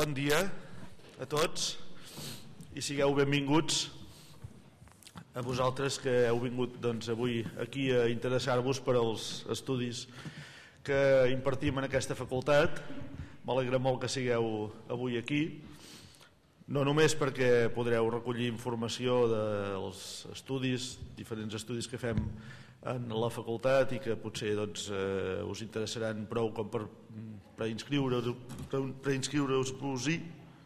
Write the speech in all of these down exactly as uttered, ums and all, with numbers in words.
Bon dia a tots i sigueu benvinguts a vosaltres que heu vingut doncs, avui aquí a interessar-vos per als estudis que impartim en aquesta facultat. M'alegra molt que sigueu avui aquí, no només perquè podreu recollir informació dels estudis, diferents estudis que fem en la facultat i que potser doncs, eh, us interessaran prou com per preinscriure-us preinscriure-vos-hi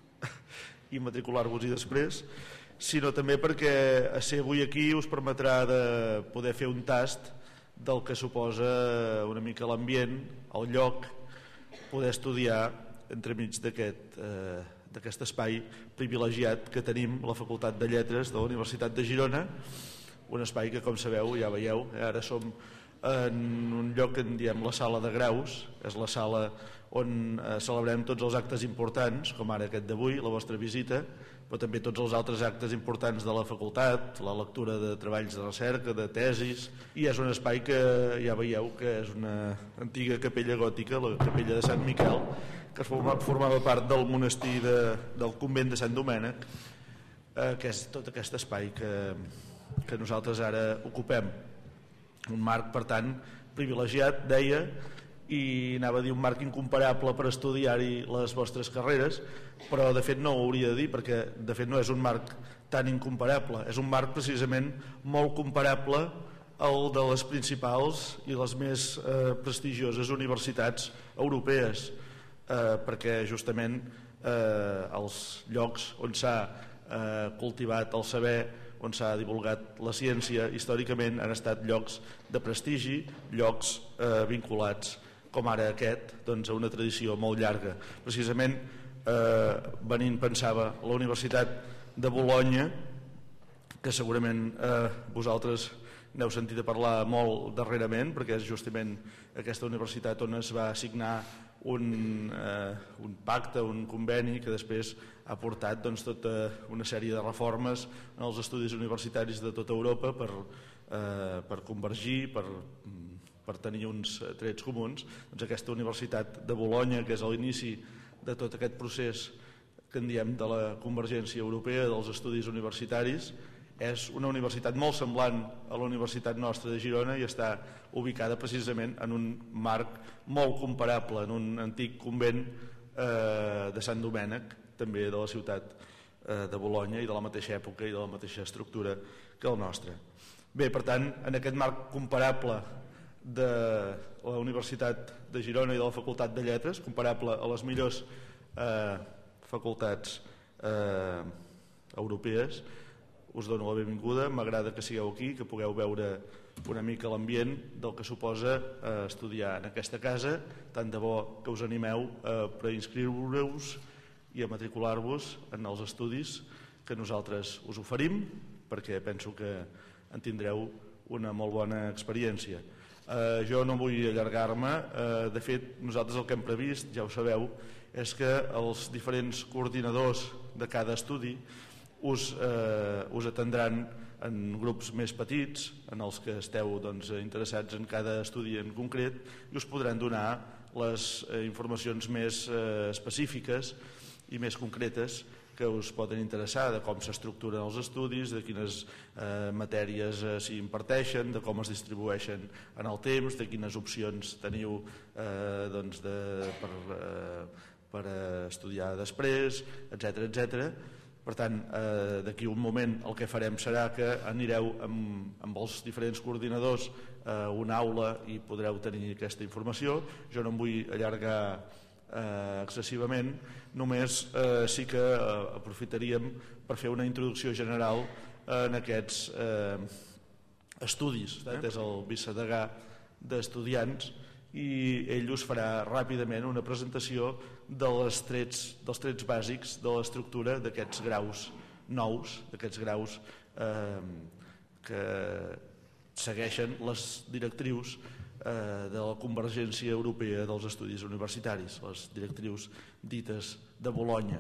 i matricular-vos-hi després, sinó també perquè a ser avui aquí us permetrà de poder fer un tast del que suposa una mica l'ambient, el lloc, poder estudiar entremig d'aquest eh, d'aquest espai privilegiat que tenim la Facultat de Lletres de la Universitat de Girona, un espai que, com sabeu, ja veieu, ara som en un lloc que en diem la sala de graus, és la sala on eh, celebrem tots els actes importants, com ara aquest d'avui, la vostra visita, però també tots els altres actes importants de la facultat, la lectura de treballs de recerca, de tesis, i és un espai que ja veieu que és una antiga capella gòtica, la capella de Sant Miquel, que formava, formava part del monestir de, del convent de Sant Domènec, eh, que és tot aquest espai que, que nosaltres ara ocupem. Un marc, per tant, privilegiat, deia, i anava a dir un marc incomparable per estudiar-hi les vostres carreres, però de fet no ho hauria de dir perquè de fet no és un marc tan incomparable, és un marc precisament molt comparable al de les principals i les més eh, prestigioses universitats europees, eh, perquè justament eh, els llocs on s'ha eh, cultivat el saber, on s'ha divulgat la ciència històricament han estat llocs de prestigi, llocs eh, vinculats com ara aquest, doncs, a una tradició molt llarga. Precisament eh, venint pensava la Universitat de Bolonya, que segurament eh, vosaltres n'heu sentit a parlar molt darrerament, perquè és justament aquesta universitat on es va signar un, eh, un pacte, un conveni que després ha portat doncs, tota una sèrie de reformes en els estudis universitaris de tota Europa per, eh, per convergir, per per tenir uns trets comuns. Doncs aquesta Universitat de Bolonya, que és a l'inici de tot aquest procés que en diem de la convergència europea dels estudis universitaris, és una universitat molt semblant a la Universitat nostra de Girona i està ubicada precisament en un marc molt comparable, en un antic convent eh, de Sant Domènec, també de la ciutat eh, de Bolonya i de la mateixa època i de la mateixa estructura que el nostre. Bé, per tant, en aquest marc comparable de la Universitat de Girona i de la Facultat de Lletres, comparable a les millors eh, facultats eh, europees, us dono la benvinguda, m'agrada que sigueu aquí, que pugueu veure una mica l'ambient del que suposa eh, estudiar en aquesta casa, tant de bo que us animeu a preinscriure-us i a matricular-vos en els estudis que nosaltres us oferim, perquè penso que en tindreu una molt bona experiència. Uh, jo no vull allargar-me, uh, de fet nosaltres el que hem previst, ja ho sabeu, és que els diferents coordinadors de cada estudi us, uh, us atendran en grups més petits, en els que esteu doncs, interessats en cada estudi en concret, i us podran donar les uh, informacions més uh, específiques i més concretes que us poden interessar, de com s'estructuren els estudis, de quines eh, matèries eh, s'hi imparteixen, de com es distribueixen en el temps, de quines opcions teniu eh, doncs de, per, eh, per estudiar després, etcètera, etcètera. Per tant, eh, d'aquí un moment el que farem serà que anireu amb, amb els diferents coordinadors a una aula i podreu tenir aquesta informació. Jo no em vull allargar Eh, excessivament, només eh, sí que eh, aprofitaríem per fer una introducció general eh, en aquests eh, estudis. Eh? És el vicedegà d'estudiants i ell us farà ràpidament una presentació de les trets, dels trets bàsics de l'estructura d'aquests graus nous, d'aquests graus eh, que segueixen les directrius de la convergència europea dels estudis universitaris, les directrius dites de Bolonya.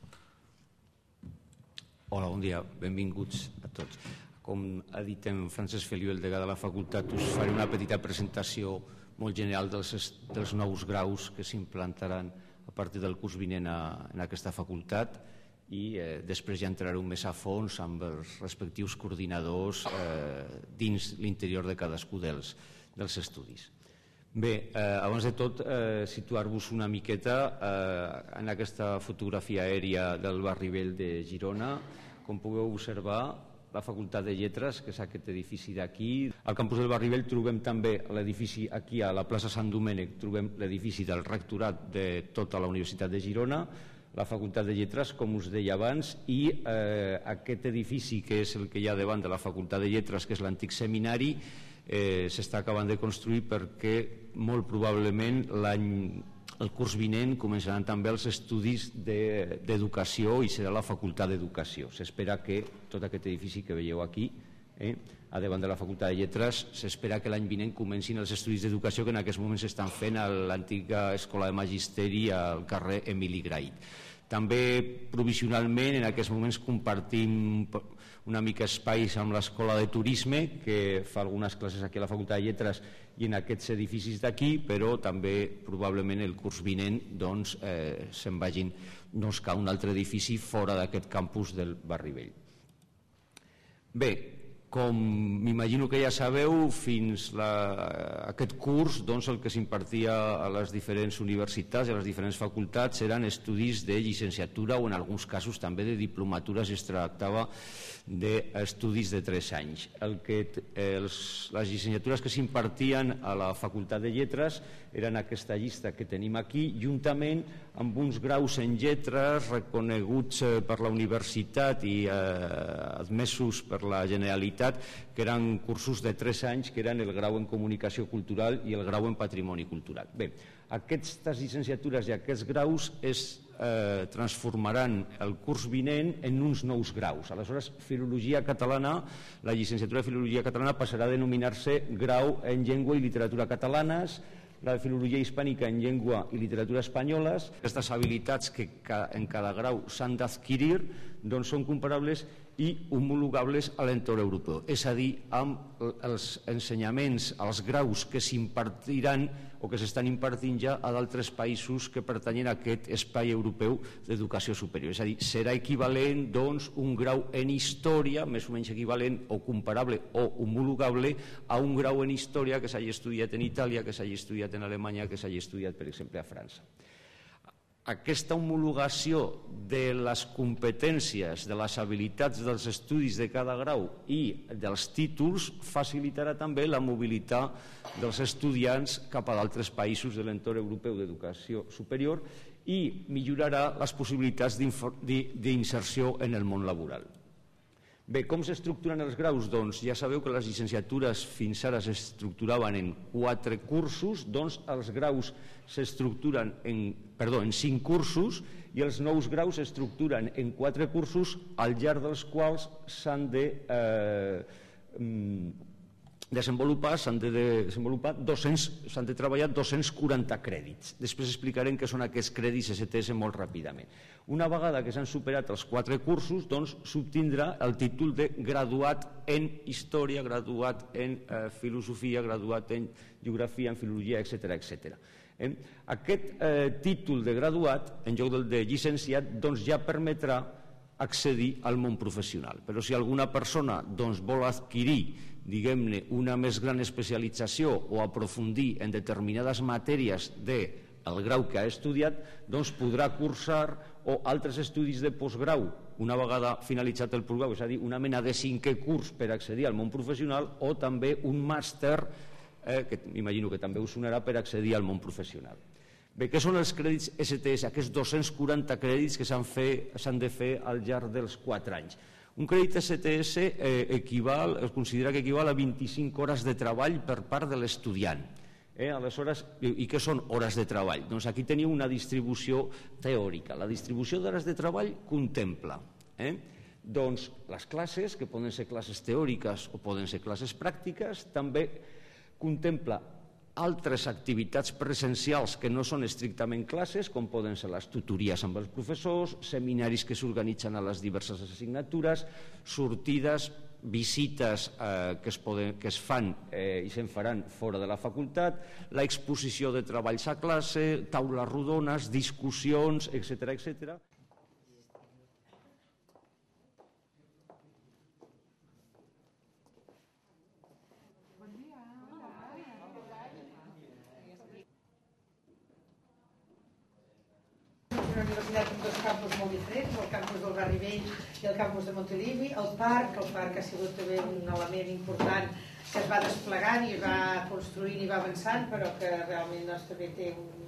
Hola, bon dia, benvinguts a tots. Com ha dit en Francesc Feliu, el degà de la facultat, us faré una petita presentació molt general dels, dels nous graus que s'implantaran a partir del curs vinent en aquesta facultat i eh, després ja entrarem més a fons amb els respectius coordinadors eh, dins l'interior de cadascú dels, dels estudis. Bé, eh, abans de tot, eh, situar-vos una miqueta eh, en aquesta fotografia aèria del barri vell de Girona. Com pugueu observar, la Facultat de Lletres, que és aquest edifici d'aquí. Al campus del barri vell trobem també l'edifici aquí a la plaça Sant Domènec, trobem l'edifici del rectorat de tota la Universitat de Girona, la Facultat de Lletres, com us deia abans, i eh, aquest edifici que és el que hi ha davant de la Facultat de Lletres, que és l'antic seminari, eh, s'està acabant de construir perquè molt probablement l'any, el curs vinent començaran també els estudis d'educació i serà la Facultat d'Educació. S'espera que tot aquest edifici que veieu aquí, eh, a davant de la Facultat de Lletres, s'espera que l'any vinent comencin els estudis d'educació que en aquests moments s'estan fent a l'antiga Escola de Magisteri al carrer Emili Grait. També provisionalment en aquests moments compartim una mica espais amb l'Escola de Turisme, que fa algunes classes aquí a la Facultat de Lletres i en aquests edificis d'aquí, però també probablement el curs vinent doncs, eh, se'n vagin doncs, a un altre edifici fora d'aquest campus del barri vell. Bé, com m'imagino que ja sabeu, fins la, aquest curs doncs, el que s'impartia a les diferents universitats i a les diferents facultats eren estudis de llicenciatura o en alguns casos també de diplomatura si es tractava d'estudis de tres anys. El que, eh, els, les llicenciatures que s'impartien a la Facultat de Lletres eren aquesta llista que tenim aquí, juntament amb uns graus en lletres reconeguts eh, per la universitat i eh, admesos per la Generalitat, que eren cursos de tres anys, que eren el grau en Comunicació Cultural i el grau en Patrimoni Cultural. Bé, aquestes llicenciatures i aquests graus es eh, transformaran el curs vinent en uns nous graus. Aleshores, Filologia Catalana, la llicenciatura de Filologia Catalana passarà a denominar-se Grau en Llengua i Literatura Catalanes, la de Filologia Hispànica en Llengua i Literatura Espanyoles. Aquestes habilitats que en cada grau s'han d'adquirir doncs són comparables i homologables a l'entorn europeu, és a dir, amb els ensenyaments, els graus que s'impartiran o que s'estan impartint ja a d'altres països que pertanyen a aquest espai europeu d'educació superior. És a dir, serà equivalent doncs, un grau en història, més o menys equivalent o comparable o homologable a un grau en història que s'hagi estudiat en Itàlia, que s'hagi estudiat en Alemanya, que s'hagi estudiat, per exemple, a França. Aquesta homologació de les competències, de les habilitats dels estudis de cada grau i dels títols facilitarà també la mobilitat dels estudiants cap a d'altres països de l'entorn europeu d'educació superior i millorarà les possibilitats d'inserció en el món laboral. Bé, com s'estructuren els graus? Doncs ja sabeu que les llicenciatures fins ara s'estructuraven en quatre cursos, doncs els graus s'estructuren en, perdó, en cinc cursos i els nous graus s'estructuren en quatre cursos al llarg dels quals s'han de eh, desenvolupar, s'han de desenvolupar dos-cents, s'han de treballar dos-cents quaranta crèdits. Després explicarem què són aquests crèdits S T S molt ràpidament. Una vegada que s'han superat els quatre cursos, doncs s'obtindrà el títol de graduat en Història, graduat en eh, Filosofia, graduat en Geografia, en Filologia, etcètera, etcètera. Eh? Aquest eh, títol de graduat, en lloc del de llicenciat, doncs ja permetrà accedir al món professional. Però si alguna persona doncs, vol adquirir diguem-ne, una més gran especialització o aprofundir en determinades matèries del grau que ha estudiat, doncs podrà cursar o altres estudis de postgrau una vegada finalitzat el postgrau, és a dir, una mena de cinquè curs per accedir al món professional o també un màster, eh, que m'imagino que també us sonarà, per accedir al món professional. Bé, què són els crèdits S T S, aquests dos-cents quaranta crèdits que s'han de fer al llarg dels quatre anys? Un crèdit S T S eh, equival, es considera que equival a vint-i-cinc hores de treball per part de l'estudiant. Eh, aleshores, i què són hores de treball? Doncs aquí teniu una distribució teòrica. La distribució d'hores de treball contempla eh, doncs les classes, que poden ser classes teòriques o poden ser classes pràctiques, també contempla altres activitats presencials que no són estrictament classes, com poden ser les tutories amb els professors, seminaris que s'organitzen a les diverses assignatures, sortides, visites eh, que, es poden, que es fan eh, i se'n faran fora de la facultat, la exposició de treballs a classe, taules rodones, discussions, etcètera, etcètera. Una universitat amb dos campus molt diferents, el campus del Barri Vell i el campus de Montilivi. El parc, el parc ha sigut també un element important que es va desplegant i va construint i va avançant, però que realment doncs, també té un,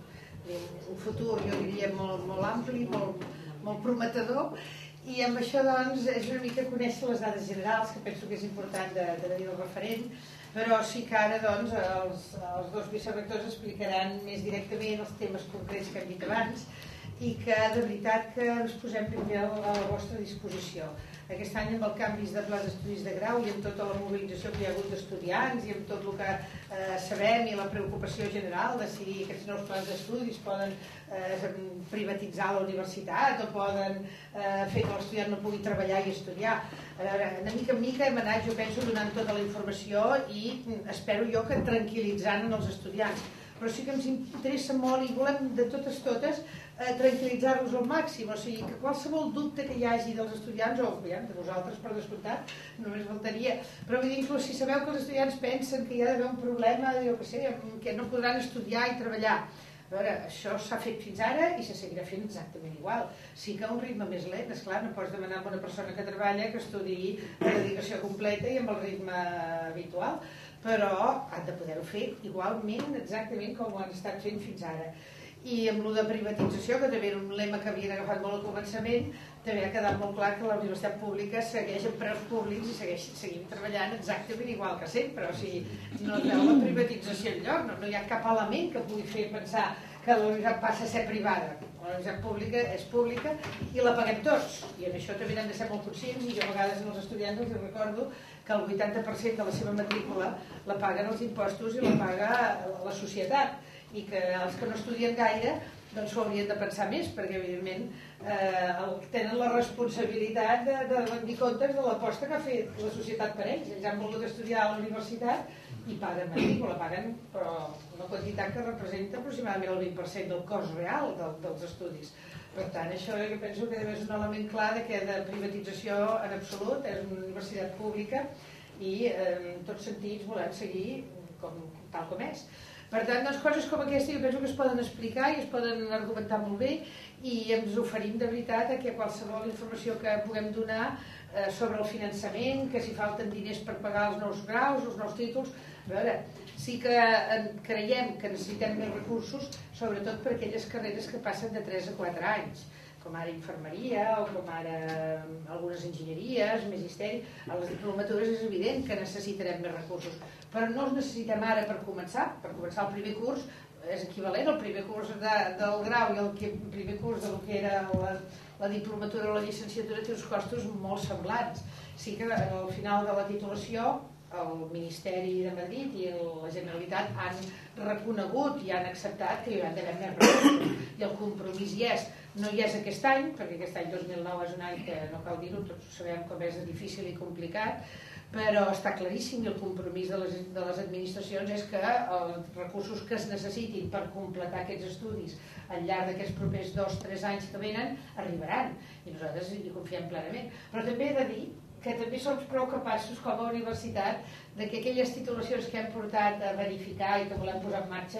un futur, jo diria, molt, molt ampli, molt, molt prometedor. I amb això doncs, és una mica conèixer les dades generals, que penso que és important de, de tenir el referent, però sí que ara doncs, els, els dos vicerectors explicaran més directament els temes concrets que hem dit abans, i que de veritat que ens posem primer a la vostra disposició. Aquest any amb els canvis de plans d'estudis de grau i amb tota la mobilització que hi ha hagut d'estudiants i amb tot el que eh, sabem i la preocupació general de si aquests nous plans d'estudis poden eh, privatitzar la universitat o poden eh, fer que l'estudiant no pugui treballar i estudiar. A veure, de mica en mica hem anat, jo penso, donant tota la informació i espero jo que tranquil·litzant els estudiants. Però sí que ens interessa molt i volem de totes totes eh, tranquil·litzar-los al màxim, o sigui que qualsevol dubte que hi hagi dels estudiants, o ja, de vosaltres per descomptat, només faltaria, però vull dir, inclús si sabeu que els estudiants pensen que hi ha d'haver un problema, jo què sé, que no podran estudiar i treballar. A veure, això s'ha fet fins ara i se seguirà fent exactament igual. Sí que a un ritme més lent, esclar, no pots demanar a una persona que treballa que estudiï la dedicació completa i amb el ritme habitual, però han de poder-ho fer igualment, exactament com ho han estat fent fins ara. I amb lo de privatització, que també era un lema que havien agafat molt al començament, també ha quedat molt clar que la universitat pública segueix amb preus públics i segueix, seguim treballant exactament igual que sempre. O sigui, no es veu la privatització enlloc, no, no hi ha cap element que pugui fer pensar que la universitat passa a ser privada. La universitat pública és pública i la paguem tots. I en això també hem de ser molt conscients, i jo a vegades als estudiants els recordo que el vuitanta per cent de la seva matrícula la paguen els impostos i la paga la societat, i que els que no estudien gaire doncs s'ho haurien de pensar més, perquè evidentment eh, tenen la responsabilitat de, de rendir comptes de l'aposta que ha fet la societat per ells. Ells han volgut estudiar a la universitat i paguen matrícula, paguen però una quantitat que representa aproximadament el vint per cent del cost real del, dels estudis. Per tant, això jo penso que és un element clar de que de privatització en absolut, és una universitat pública i eh, en tots sentits volem seguir com, tal com és. Per tant, doncs, coses com aquesta jo penso que es poden explicar i es poden argumentar molt bé i ens oferim de veritat a que qualsevol informació que puguem donar eh, sobre el finançament, que si falten diners per pagar els nous graus, els nous títols. A veure, sí que creiem que necessitem més recursos, sobretot per aquelles carreres que passen de tres a quatre anys, com ara infermeria o com ara algunes enginyeries, magisteri. A les diplomatures és evident que necessitarem més recursos, però no els necessitem ara per començar. Per començar el primer curs és equivalent al primer curs de, del grau i el que, primer curs del que era la, la diplomatura o la llicenciatura té uns costos molt semblants. Sí que al final de la titulació el Ministeri de Madrid i la Generalitat han reconegut i han acceptat que hi haurà d'haver més recursos i el compromís hi és. No hi és aquest any, perquè aquest any dos mil nou és un any que no cal dir-ho, tots sabem com és difícil i complicat, però està claríssim i el compromís de les, de les administracions és que els recursos que es necessitin per completar aquests estudis al llarg d'aquests propers dos o tres anys que venen arribaran i nosaltres hi confiem plenament. Però també he de dir que també som prou capaços com a universitat de que aquelles titulacions que hem portat a verificar i que volem posar en marxa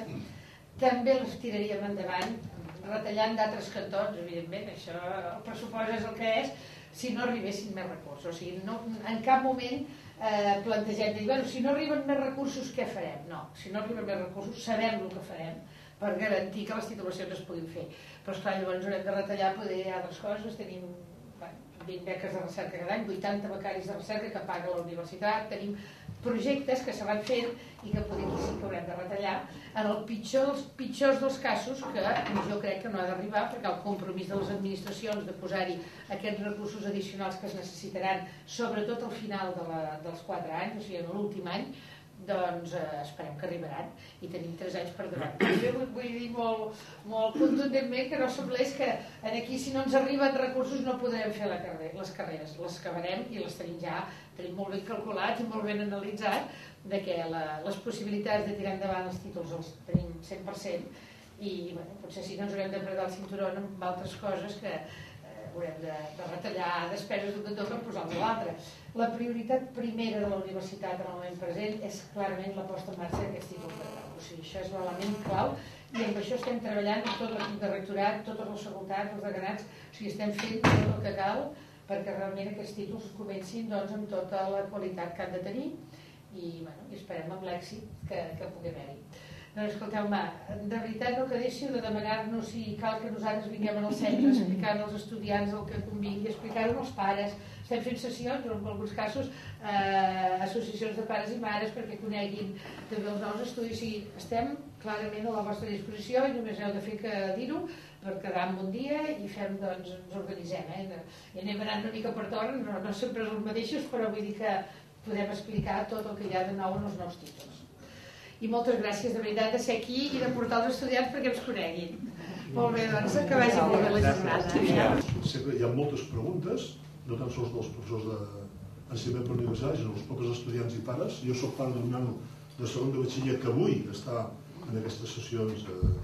també les tiraríem endavant retallant d'altres cantons, evidentment, això el pressupost és el que és, si no arribessin més recursos. O sigui, no, en cap moment eh, plantegem de dir, bueno, si no arriben més recursos, què farem? No, si no arriben més recursos, sabem el que farem per garantir que les titulacions es puguin fer. Però, esclar, llavors haurem de retallar poder altres coses, tenim vint beques de recerca cada any, vuitanta becaris de recerca que paga la universitat, tenim projectes que se van fent i que podem dir sí que haurem de retallar en el pitjor dels pitjors dels casos, que jo crec que no ha d'arribar perquè el compromís de les administracions de posar-hi aquests recursos addicionals que es necessitaran sobretot al final de la, dels quatre anys, o sigui en l'últim any, doncs eh, esperem que arribaran i tenim tres anys per davant. Jo vull dir molt, molt contundentment que no semblés que aquí si no ens arriben recursos no podrem fer la carrera, les carreres, les acabarem i les tenim ja tenim molt ben calculats i molt ben analitzats de que la, les possibilitats de tirar endavant els títols els tenim cent per cent i bueno, potser sí que ens haurem d'apretar el cinturó amb altres coses que eh, haurem de, de retallar despeses d'un cantó per posar-ne l'altre. La prioritat primera de la universitat en el moment present és clarament la posta en marxa d'aquests títols de grau. O sigui, això és l'element clau i amb això estem treballant amb tot l'equip de rectorat, totes les facultats, els deganats, o sigui, estem fent tot el que cal perquè realment aquests títols comencin doncs, amb tota la qualitat que han de tenir i, bueno, i esperem amb l'èxit que, que pugui haver-hi. Doncs escolteu-me, de veritat no que deixiu de demanar-nos si cal que nosaltres vinguem al centre explicant als estudiants el que convingui, explicar-ho als pares. Estem fent sessions, o en alguns casos eh, associacions de pares i mares perquè coneguin també els nous estudis. O sigui, estem clarament a la vostra disposició i només heu de fer que dir-ho per quedar en un dia i fem, doncs, ens organitzem. Eh? I anem anant una mica per torn, no, no sempre els mateixos, però vull dir que podem explicar tot el que hi ha de nou en els nous títols. I moltes gràcies de veritat de ser aquí i de portar els estudiants perquè ens coneguin. Molt bé, doncs, que vagi molt bé la jornada. Sé que hi ha moltes preguntes, no tan sols dels professors d'ensenyament per universitat, sinó dels propis estudiants i pares. Jo soc pare d'un nano de segon de batxiller que avui està en aquestes sessions eh,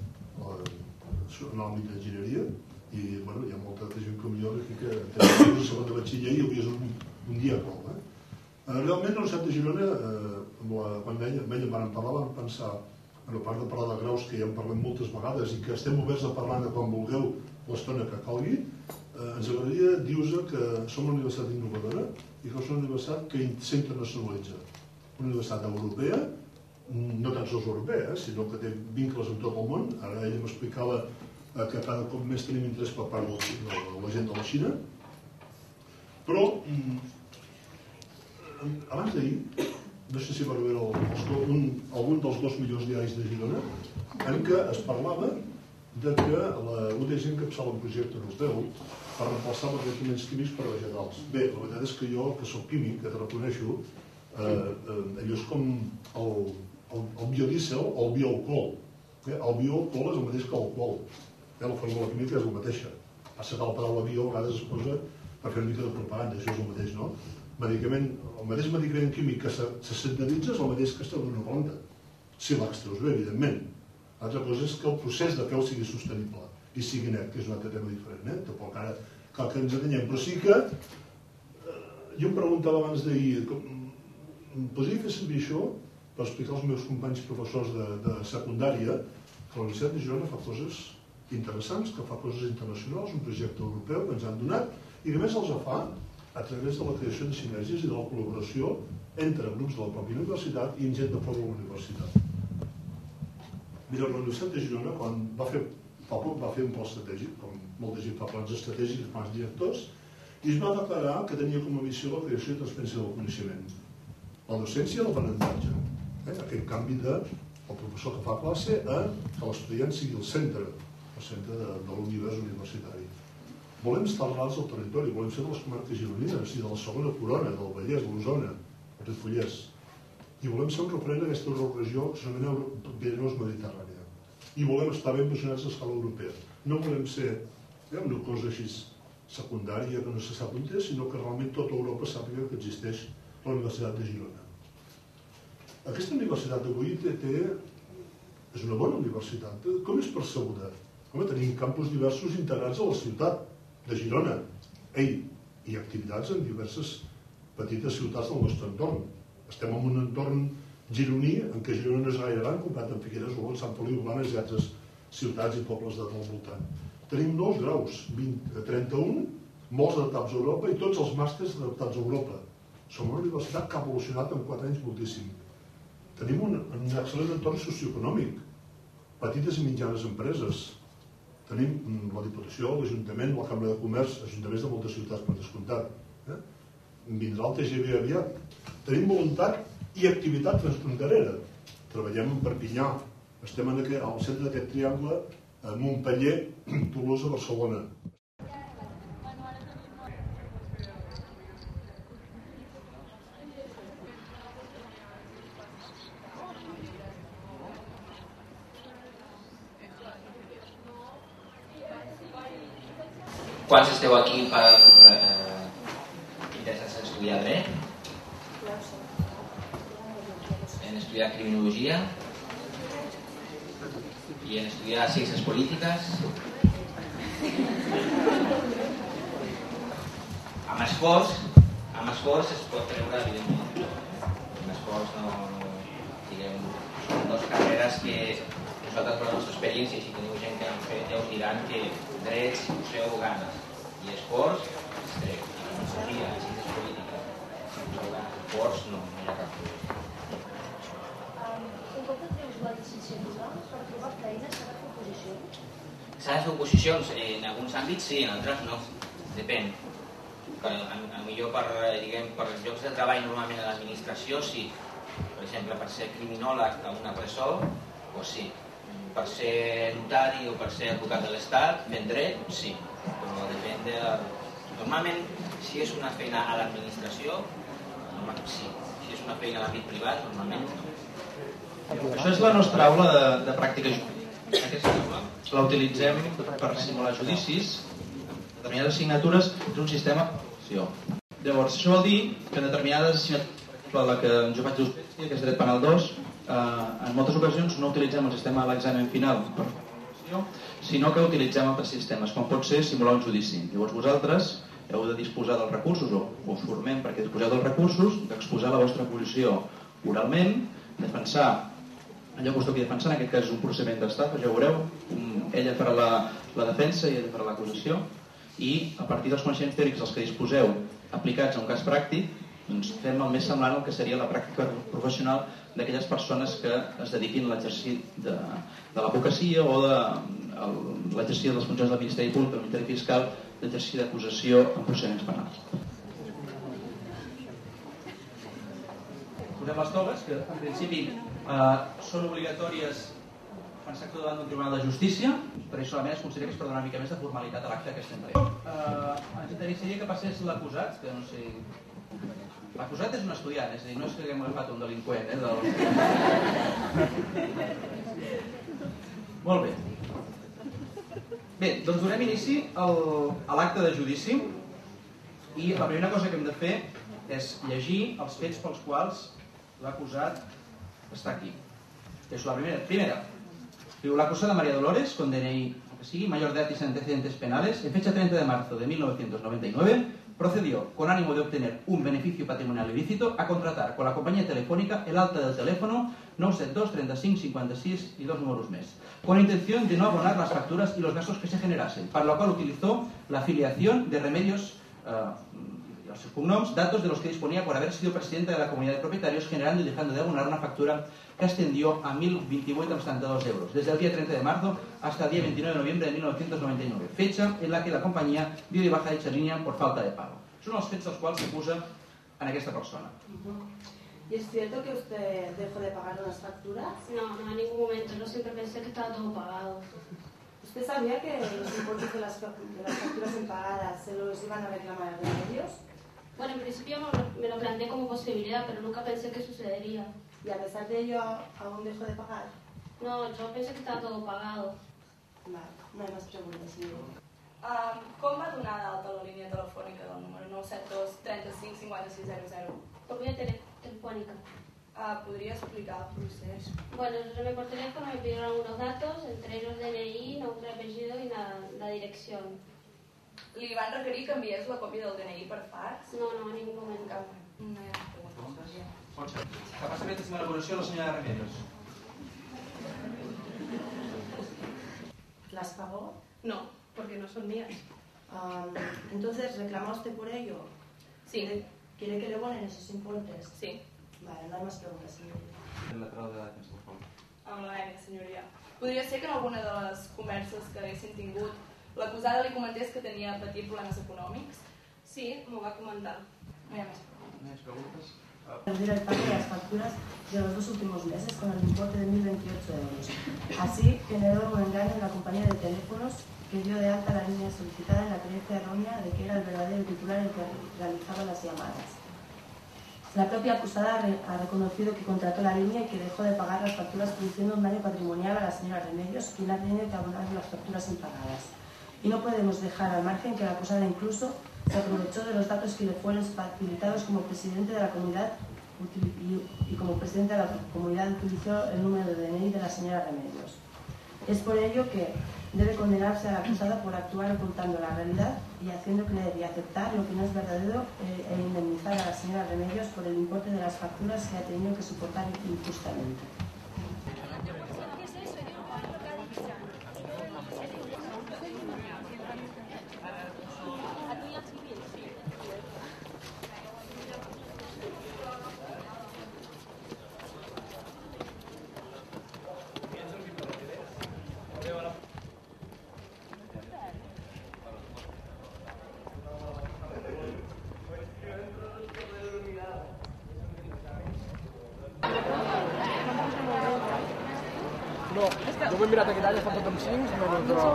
en l'àmbit d'enginyeria i bueno, hi ha molta gent com jo que té un segon de batxiller i avui és un, un dia clau. Eh? Realment, a la Universitat de Girona, eh, la, quan ell em van parlar, vam pensar, a part de parlar de graus, que ja en parlem moltes vegades i que estem oberts a parlar de quan vulgueu l'estona que calgui, eh, ens agradaria dir-vos que som una universitat innovadora i que és una universitat que s'internacionalitza. Una universitat europea, no tan sols europea, eh, sinó que té vincles en tot el món. Ara ell m'explicava eh, que cada cop més tenim interès per part de la gent de la Xina. Però abans d'ahir, no sé si va veure el, el, un, algun dels dos millors diaris de Girona, en què es parlava de que la U D G encapçala un projecte europeu per reemplaçar els tractaments químics per vegetals. Bé, la veritat és que jo, que soc químic, que te reconeixo, eh, eh, allò és com el, el, el biodiesel o el bioalcohol. Eh? El bioalcohol és el mateix que l'alcohol. Eh? La fórmula química és la mateixa. Passa que la paraula bio a vegades es posa per fer una mica de propaganda, això és el mateix, no? Medicament, el mateix medicament químic que se, se sintetitza és el mateix que es treu d'una planta, si l'extreus bé, evidentment. L'altra cosa és que el procés de fer-ho sigui sostenible i sigui net, que és un altre tema diferent, eh? Tampoc ara cal que ens atanyem, però sí que eh, jo em preguntava abans d'ahir, podria fer servir això per explicar als meus companys professors de, de secundària que la Universitat de Girona fa coses interessants, que fa coses internacionals, un projecte europeu que ens han donat i que més els fa a través de la creació de sinergies i de la col·laboració entre grups de la pròpia universitat i gent de fora de la universitat. Mira, la Universitat de Girona, quan va fer, fa poc va fer un pla estratègic, com molta gent fa plans estratègics, plans directors, i es va declarar que tenia com a missió la creació i transferència del coneixement. La docència i l'aprenentatge. Eh? Aquest canvi de el professor que fa classe a que l'estudiant sigui el centre, el centre de, de l'univers universitari. Volem estar arrelats al territori, volem ser de les comarques gironines i de la segona corona, del Vallès, de l'Osona, el Ripollès. I volem ser un referent a aquesta regió que s'anomena Pirineu-Mediterrània. I volem estar ben posicionats a escala europea. No volem ser eh, una cosa així secundària que no se sap on és, sinó que realment tota Europa sàpiga que existeix la Universitat de Girona. Aquesta universitat d'avui té, té, és una bona universitat. Com és percebuda? Home, tenim campus diversos integrats a la ciutat de Girona. Ei, hi ha activitats en diverses petites ciutats del nostre entorn. Estem en un entorn gironí en què Girona no és gaire gran comparat amb Figueres, Olot, Sant Feliu, Blanes i altres ciutats i pobles del voltant. Tenim nous graus, vint, trenta-un, molts adaptats a Europa i tots els màsters adaptats a Europa. Som una universitat que ha evolucionat en quatre anys moltíssim. Tenim un, un excel·lent entorn socioeconòmic, petites i mitjanes empreses. Tenim la Diputació, l'Ajuntament, la Cambra de Comerç, ajuntaments de moltes ciutats per descomptat. Eh? Vindrà el T G V aviat. Tenim voluntat i activitat transfronterera. Treballem en Perpinyà, estem en aquest, al centre d'aquest triangle, a Montpeller, Tolosa, Barcelona. Quants esteu aquí per eh, interessats en estudiar dret? En estudiar criminologia? I en estudiar ciències polítiques? Amb esforç, amb esforç es pot treure, evidentment. Amb esforç no, no diguem, són dues carreres que nosaltres, per la nostra experiència, si teniu gent que han fet, ja us diran que drets, si poseu ganes i esforç, es treu. I filosofia, i ciències polítiques, si poseu ganes, esforç, no, no hi ha cap problema. Un cop que treus la llicenciatura, per trobar feina s'ha de fer oposicions? S'ha de fer oposicions? En alguns àmbits sí, en altres no. Depèn. A, a millor per, diguem, per llocs de treball normalment a l'administració sí. Per exemple, per ser criminòleg a una presó, doncs sí. Per ser notari o per ser advocat de l'Estat, ben dret, sí. Però depèn de... Normalment, si és una feina a l'administració, sí. Si és una feina a l'àmbit privat, normalment no. Això és la nostra aula de, de pràctica jurídica. Aquesta aula la utilitzem per simular judicis. Determinades assignatures és un sistema d'avaluació. Llavors, això vol dir que en determinades assignatures, la que jo faig d'Usbècia, que és dret penal dos, eh, en moltes ocasions no utilitzem el sistema de l'examen final per fer l'avaluació, sinó que utilitzem altres sistemes, com pot ser simular un judici. Llavors vosaltres heu de disposar dels recursos, o us formem perquè disposeu dels recursos, d'exposar la vostra posició oralment, defensar allò que us toqui defensar, en aquest cas és un procediment d'estafa, ja ho veureu, un, ella farà la, la defensa i ella farà l'acusació, i a partir dels coneixements teòrics dels que disposeu aplicats a un cas pràctic, doncs fem el més semblant al que seria la pràctica professional d'aquelles persones que es dediquin a l'exercici de, de l'advocacia o de l'exercici de les funcions del Ministeri Públic, del Ministeri Fiscal, l'exercici d'acusació en procediments penals. Posem les togues, que en principi eh, són obligatòries quan s'actua davant d'un tribunal de justícia, per això solament es considera que es pot donar una mica més de formalitat a l'acte que estem fent. Eh, ens interessaria que passés l'acusat, que no sé... L'acusat és un estudiant, és a dir, no és que haguem agafat un delinqüent, eh? Del... Molt bé. Bé, doncs donem inici al, a l'acte de judici i la primera cosa que hem de fer és llegir els fets pels quals l'acusat està aquí. És la primera. Primera. La acusada María Dolores, con D N I, que sigue, mayor de edad y sin antecedentes penales, en fecha treinta de marzo de mil novecientos noventa y nueve, procedió, con ánimo de obtener un beneficio patrimonial ilícito, a contratar con la compañía telefónica el alta del teléfono nueve siete dos, treinta y cinco, cincuenta y seis y dos números més, con intención de no abonar las facturas y los gastos que se generasen, para lo cual utilizó la afiliación de Remedios, uh, sus cognoms, datos de los que disponía por haber sido presidente de la comunidad de propietarios, generando y dejando de abonar una factura que ascendió a mil veintiocho coma setenta y dos euros, desde el día treinta de marzo hasta el día veintinueve de noviembre de mil novecientos noventa y nueve, fecha en la que la compañía dio de baja dicha línea por falta de pago. Són els fets dels quals s'acusa en aquesta persona. ¿Y es cierto que usted dejó de pagar unas facturas? No, no, en ningún momento. Yo siempre pensé que estaba todo pagado. ¿Usted sabía que los importes de las, de las facturas impagadas se los iban a reclamar a Remedios? Bueno, en principio me lo planteé como posibilidad, pero nunca pensé que sucedería. ¿Y a pesar de ello aún dejó de pagar? No, yo pensé que estaba todo pagado. Vale, no hay más preguntas, señor. Um, com va donar d'alta la línia telefònica del número nou set dos, trenta cinc, cinquanta sis zero zero? Por vía tele telefónica. Uh, ¿Podría explicar el procés? Bueno, yo llamé por teléfono, me pidieron algunos datos, entre ellos D N I, nombre, apellido y la, la dirección. Li van requerir que enviés la còpia del D N I per fax? No, no, en ningún momento. Cap. No hi ha preguntes. Capaçament de l'elaboració de la senyora Remedios. ¿Las pagó? No, porque no son mías. Um, entonces, ¿reclama usted por ello? Sí. ¿Quiere, ¿Quiere que le abonen esos importes? Sí. Vale, no hay más preguntas, señorita. El lateral de l'Atenció al Fons. Amb la N, senyoria. Podria ser que en alguna de les converses que haguessin tingut l'acusada li comentés que tenia patit problemes econòmics? Sí, m'ho va comentar. No hi ha més preguntes. ¿No hay preguntas? Perder el pago de las facturas de los dos últimos meses con el importe de mil veintiocho euros. Así, generó un engaño en la compañía de teléfonos que dio de alta la línea solicitada en la creencia errónea de que era el verdadero titular el que realizaba las llamadas. La propia acusada ha reconocido que contrató la línea y que dejó de pagar las facturas, produciendo un daño patrimonial a la señora Remedios, quien ha tenido que abonar las facturas impagadas. Y no podemos dejar al margen que la acusada incluso se aprovechó de los datos que le fueron facilitados como presidente de la comunidad y como presidente de la comunidad utilizó el número de D N I de la señora Remedios. Es por ello que debe condenarse a la acusada por actuar ocultando la realidad y haciendo creer y aceptar lo que no es verdadero e indemnizar a la señora Remedios por el importe de las facturas que ha tenido que soportar injustamente. No, jo m'he mirat aquest any, està tot amb cinc, però...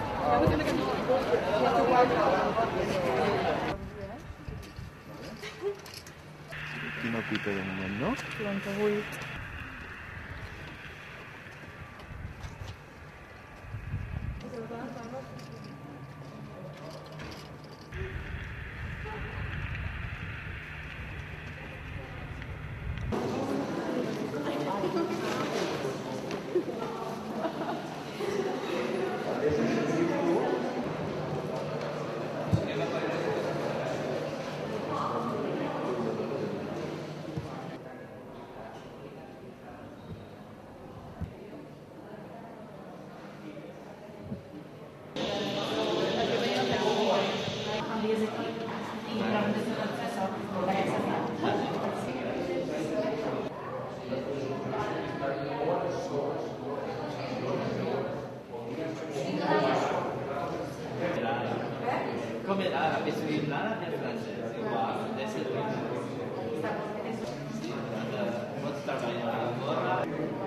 Quina pita de moment, no? quaranta-vuit. Come la visibilità è francese, uguale, adesso è sì, posso stare ancora.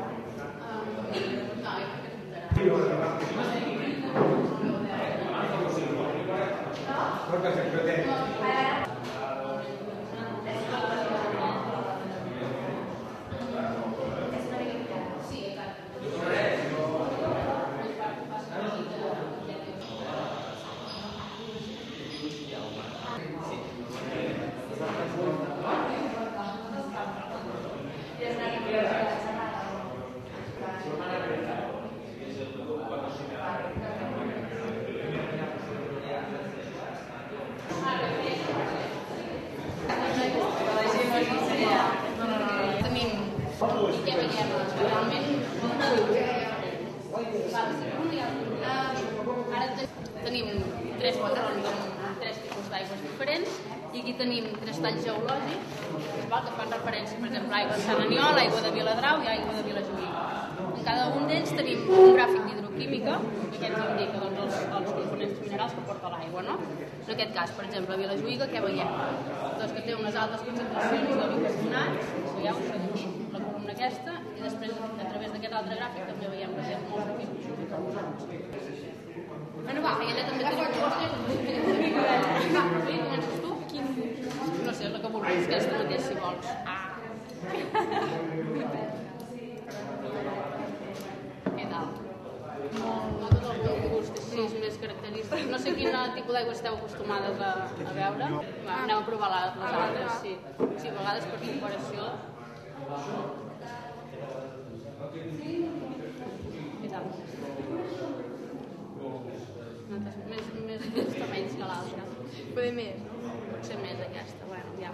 Tenim tres patrons amb tres tipus d'aigües diferents i aquí tenim tres talls geològics que fan referència, per exemple, a aigua de Sant Aniol, aigua de Viladrau i aigua de Vilajuïga. En cada un d'ells tenim un gràfic d'hidroquímica que ens indica doncs, els, els components minerals que porta l'aigua. No? En aquest cas, per exemple, a Vilajuïga, què veiem? Doncs que té unes altes concentracions de bicarbonats, veieu, aquí, la columna aquesta, i després, a través d'aquest altre gràfic, també veiem que té molts tipus de bicarbonats. Bueno, va, i allà també tenim dues coses. Va, sí, comences tu? No sé, la que vulguis, aquesta mateix, si vols. Ah! Què tal? No tot el teu gust és sí, més característic. No sé quin tipus d'aigua esteu acostumades a, a veure. Va, anem a provar les, les altres, sí. Sí, a vegades per comparació. Què tal? Més, més, més tamells que l'altra. Poder més, no? Potser més aquesta, bueno, ja.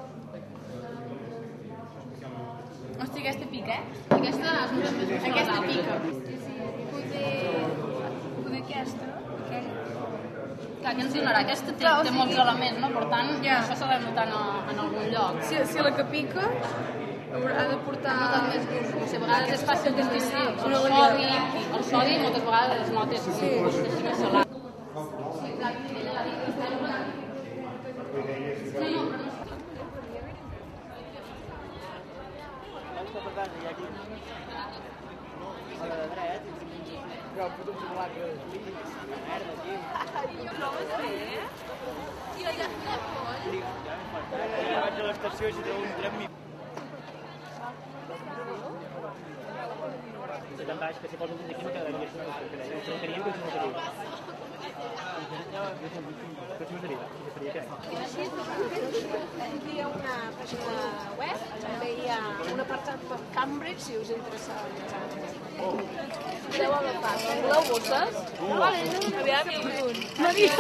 Hosti, aquesta pica, eh? Aquesta és més més més aquesta pica. Poder... Poder aquesta, aquella. Clar, què ens donarà? Aquesta té, Clar, té molts elements, no? Per tant, ja. Això s'ha de notar en, en algun lloc. Si, si la que pica ha de portar... Més gust. O sigui, a vegades és fàcil distingir el sodi, el sodi moltes vegades es nota que és un gust més salat. Sí, exacte, ella l'ha dit. No, no, però no està. Per tant, hi ha aquí a la de dret, hi ha un puto xocolat que és líquid, la merda, aquí. I no ho vas fer, eh? I allà està el coll? Ja vaig a l'estació i si trobo un tren mi... Se te'n baix, que si poso un d'aquí no quedaria, això no ho quedaria, que no quedaria. Aquí hi ha una pàgina web, també hi ha un apartat per Cambridge, si us interessa. Podeu agafar. Voleu bosses? Vale, aviam, Maria.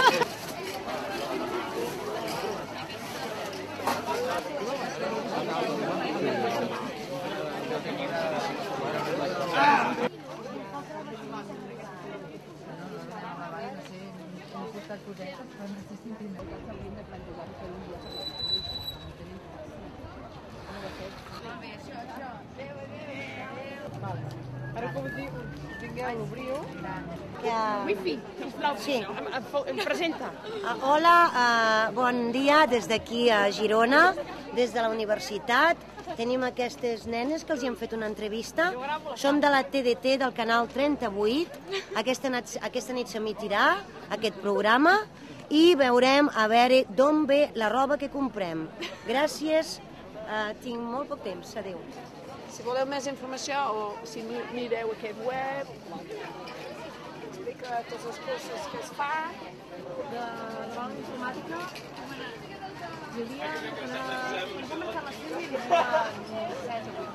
Ara que ho tingueu, obriu. Wifi, sisplau, Sí. em, em, em presenta. Uh, Hola, uh, bon dia des d'aquí a Girona, des de la universitat. Tenim aquestes nenes que els hi hem fet una entrevista. Som de la T D T del canal trenta-vuit. Aquesta nit, aquesta nit s'emitirà aquest programa i veurem a veure d'on ve la roba que comprem. Gràcies, uh, tinc molt poc temps. Adéu. Si voleu més informació o si mireu aquest web, explica totes les coses que es fa. De la informàtica hi havia una... Ens vam marcar les tres i hi havia set o vuit.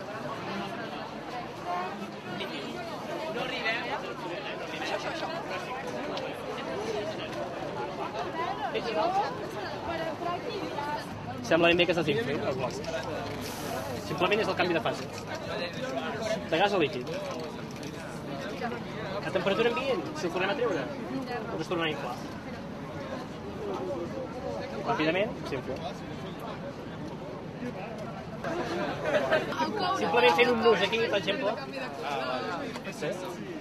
No arribem. Això, això, això. Sembla ben bé que s'hagi fet, el bloc. Simplement és el canvi de fase. De gas a líquid. A temperatura ambient, si el tornem a treure, o es torna a inflar. Ràpidament, s'infla. Simplement fent un nus aquí, per exemple. Sí.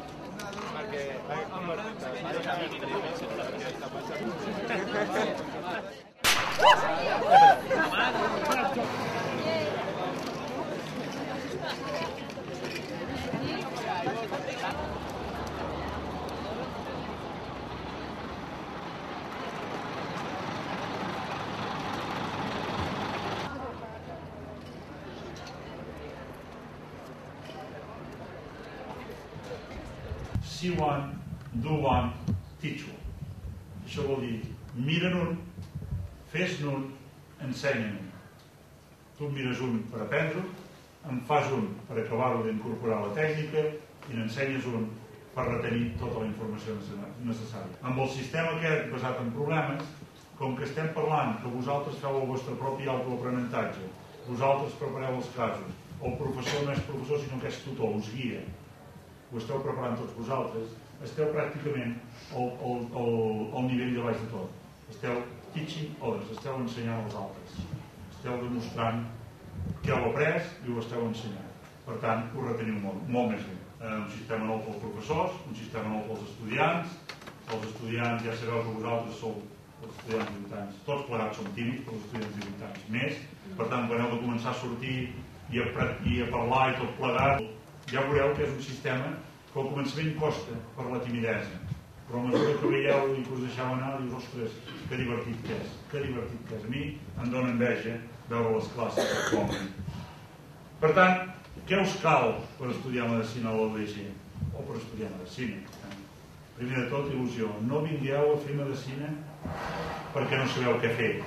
See one, do one, teach one. Això vol dir, mira'n un, fes-ne un, ensenya'n un. Tu em mires un per aprendre-ho, em fas un per acabar-ho d'incorporar a la tècnica i n'ensenyes un per retenir tota la informació necessària. Amb el sistema aquest basat en problemes, com que estem parlant que vosaltres feu el vostre propi autoaprenentatge, vosaltres prepareu els casos, el professor no és professor sinó que és tutor, us guia, ho esteu preparant tots vosaltres, esteu pràcticament al, al, al, al nivell de baix de tot. Esteu teaching others, esteu ensenyant als altres. Esteu demostrant que heu après i ho esteu ensenyant. Per tant, ho reteniu molt, molt més bé. Un sistema nou pels professors, un sistema nou pels estudiants. Els estudiants, ja sabeu que vosaltres sou els estudiants de divuit anys. Tots plegats som tímids, però els estudiants de divuit anys més. Per tant, quan heu de començar a sortir i a, i a parlar i tot plegat, ja veureu que és un sistema que al començament costa per la timidesa, però a mesura que veieu i que us deixeu anar, dius, ostres, que divertit que és, que divertit que és. A mi em dóna enveja veure les classes actualment. Per tant, què us cal per estudiar medicina a l'U D G? O per estudiar medicina? Primer de tot, il·lusió. No vingueu a fer medicina perquè no sabeu què fer.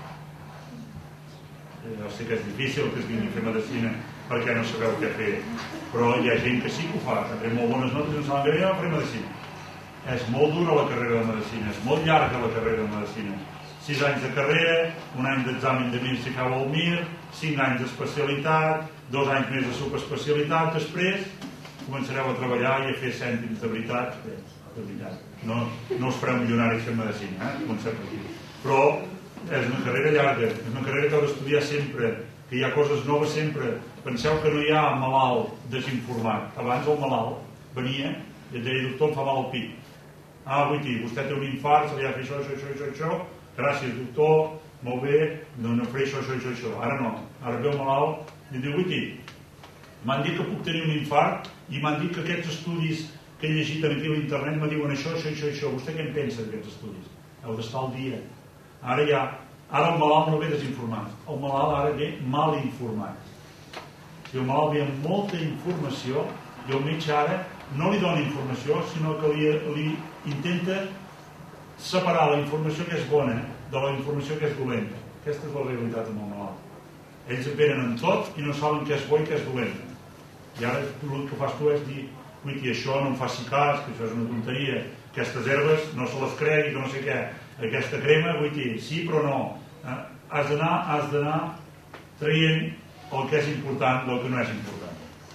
Jo sé que és difícil que es vingui a fer medicina perquè no sabeu què fer, però hi ha gent que sí que ho fa, que té molt bones notes i no saben què dir, faré medicina. És molt dura la carrera de medicina, és molt llarga la carrera de medicina. Sis anys de carrera, un any d'examen de M I R si feu el M I R, cinc anys d'especialitat, dos anys més de subespecialitat, després començareu a treballar i a fer cèntims de veritat. Bé, de veritat, no, no us fareu milionaris fent medicina, eh? Comencem per aquí. Però és una carrera llarga, és una carrera que heu d'estudiar sempre, que hi ha coses noves sempre. Penseu que no hi ha malalt desinformat. Abans el malalt venia i et deia, doctor, em fa mal el pit. Ah, vull dir, vostè té un infart, se li ha de fer això, això, això, això, això. Gràcies, doctor, molt bé, no, no faré això, això, això, això. Ara no. Ara ve el malalt i et diu, vull dir, m'han dit que puc tenir un infart i m'han dit que aquests estudis que he llegit aquí a l'internet me diuen això, això, això, això. Vostè què en pensa d'aquests estudis? Heu d'estar al dia. Ara ja, ara el malalt no ve desinformat. El malalt ara ve mal informat. Si el malalt ve amb molta informació i el metge ara no li dona informació, sinó que li, li intenta separar la informació que és bona de la informació que és dolenta. Aquesta és la realitat amb el malalt. Ells venen en tot i no saben què és bo i què és dolent. I ara el que fas tu és dir, uiti, això no em faci cas, que això és una tonteria, aquestes herbes no se les cregui, que no sé què, aquesta crema, uiti, sí però no. Eh? Has d'anar has d'anar traient el que és important del que no és important.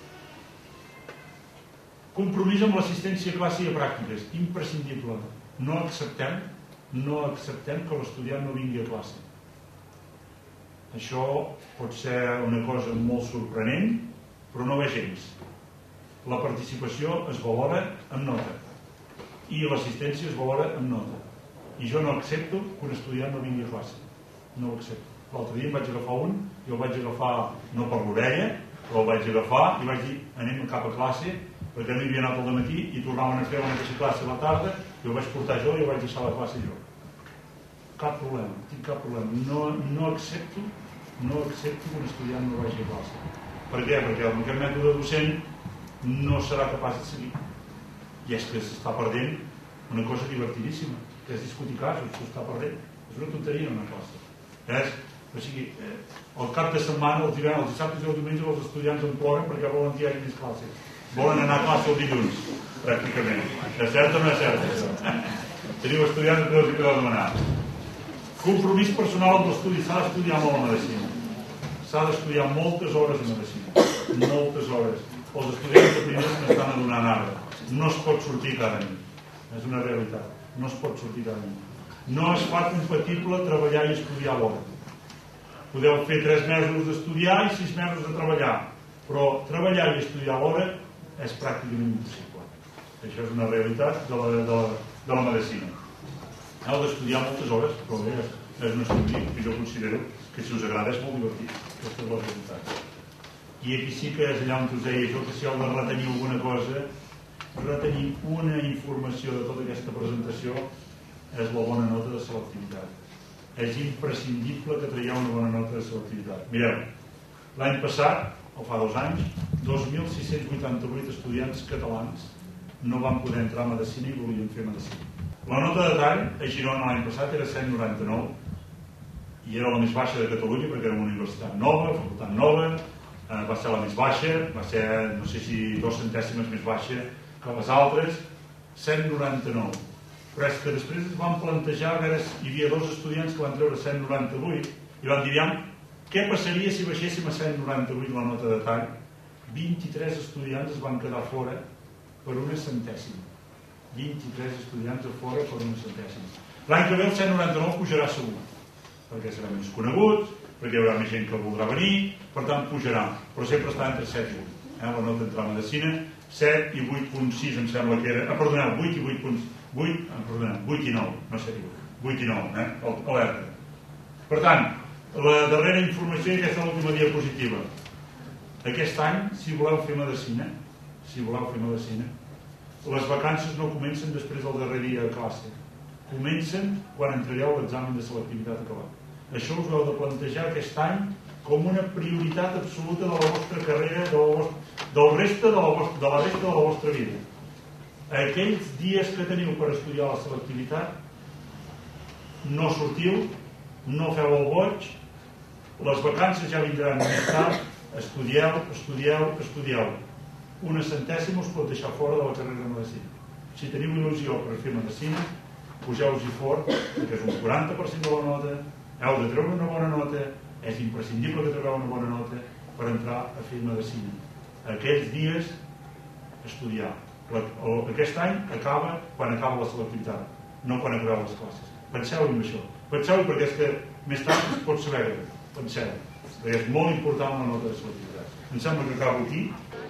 Compromís amb l'assistència a classe i a pràctiques, imprescindible. No acceptem, no acceptem que l'estudiant no vingui a classe. Això pot ser una cosa molt sorprenent, però no ve gens. La participació es valora amb nota i l'assistència es valora amb nota. I jo no accepto que un estudiant no vingui a classe. No ho accepto. L'altre dia em vaig agafar un, jo el vaig agafar no per l'orella, però el vaig agafar i vaig dir anem cap a classe, perquè no hi havia anat al dematí i tornaven a fer la mateixa classe a la tarda, i el vaig portar jo i el vaig deixar a la classe jo. Cap problema, tinc cap problema. No, no accepto no accepto que un estudiant no vagi a classe. Per què? Perquè el meu mètode docent no serà capaç de seguir. I és que s'està perdent una cosa divertidíssima, que és discutir casos, s'està perdent. És una tonteria en una classe. És, o sigui, eh, el cap de setmana, els divendres, els dissabtes i els diumenges, els estudiants en ploren perquè volen que hi hagi més classes. Volen anar a classe el dilluns, pràcticament. És cert o no és cert, això? Teniu estudiants que els hi podeu demanar. Compromís personal amb l'estudi. S'ha d'estudiar molt la medicina. S'ha d'estudiar moltes hores de medicina. Moltes hores. Els estudiants de primers n'estan adonant ara. No es pot sortir cada nit. És una realitat. No es pot sortir cada nit. No es fa compatible treballar i estudiar alhora. Podeu fer tres mesos d'estudiar i sis mesos de treballar. Però treballar i estudiar alhora és pràcticament impossible. Això és una realitat de la, de la, de la medicina. Heu d'estudiar moltes hores, però bé, és un estudi que jo considero que si us agrada és molt divertit. Aquesta és la realitat. I aquí sí que és allà on us deia jo que si heu de retenir alguna cosa, retenir una informació de tota aquesta presentació és la bona nota de selectivitat. És imprescindible que traieu una bona nota de selectivitat. Mireu, l'any passat, o fa dos anys, dos mil sis-cents vuitanta-vuit estudiants catalans no van poder entrar a medicina i volien fer medicina. La nota de tall a Girona l'any passat era cent noranta-nou i era la més baixa de Catalunya perquè era una universitat nova, facultat nova, eh, va ser la més baixa, va ser, no sé si dos centèsimes més baixa que les altres, cent noranta-nou. Però és que després es van plantejar, a veure, hi havia dos estudiants que van treure cent noranta-vuit i van dir, què passaria si baixéssim a cent noranta-vuit la nota de tall? vint-i-tres estudiants es van quedar fora per una centèsima. vint-i-tres estudiants a fora per una centèsima. L'any que ve el cent noranta-nou pujarà segur, perquè serà més conegut, perquè hi haurà més gent que voldrà venir, per tant pujarà, però sempre està entre set i vuit. Eh? La nota d'entrar a medicina, set i vuit coma sis em sembla que era, ah, perdoneu, vuit i vuit coma vuit, ah, perdoneu, vuit i nou, no sé, vuit i nou, eh? Alerta. Per tant, la darrera informació i aquesta última diapositiva. Aquest any, si voleu fer medicina, si voleu fer medicina, les vacances no comencen després del darrer dia de classe. Comencen quan entregueu l'examen de selectivitat acabat. Això us heu de plantejar aquest any com una prioritat absoluta de la vostra carrera, de la vostra, del resta de la, vostra, de la resta de la vostra vida. Aquells dies que teniu per estudiar la selectivitat, no sortiu, no feu el boig, les vacances ja vindran més tard, estudieu, estudieu, estudieu. Una centèsima us pot deixar fora de la carrera de medicina. Si teniu il·lusió per fer medicina, pugeu-hi fort, que és un quaranta per cent de la nota, heu de treure una bona nota, és imprescindible que treueu una bona nota per entrar a fer medicina. Aquells dies, estudiar. Aquest any acaba quan acaba la selectivitat, no quan acabeu les classes. Penseu-hi en això. Penseu-hi perquè és que més tard es pot saber. Penseu, perquè és molt important la nota de selectivitat. Em sembla que acabo aquí.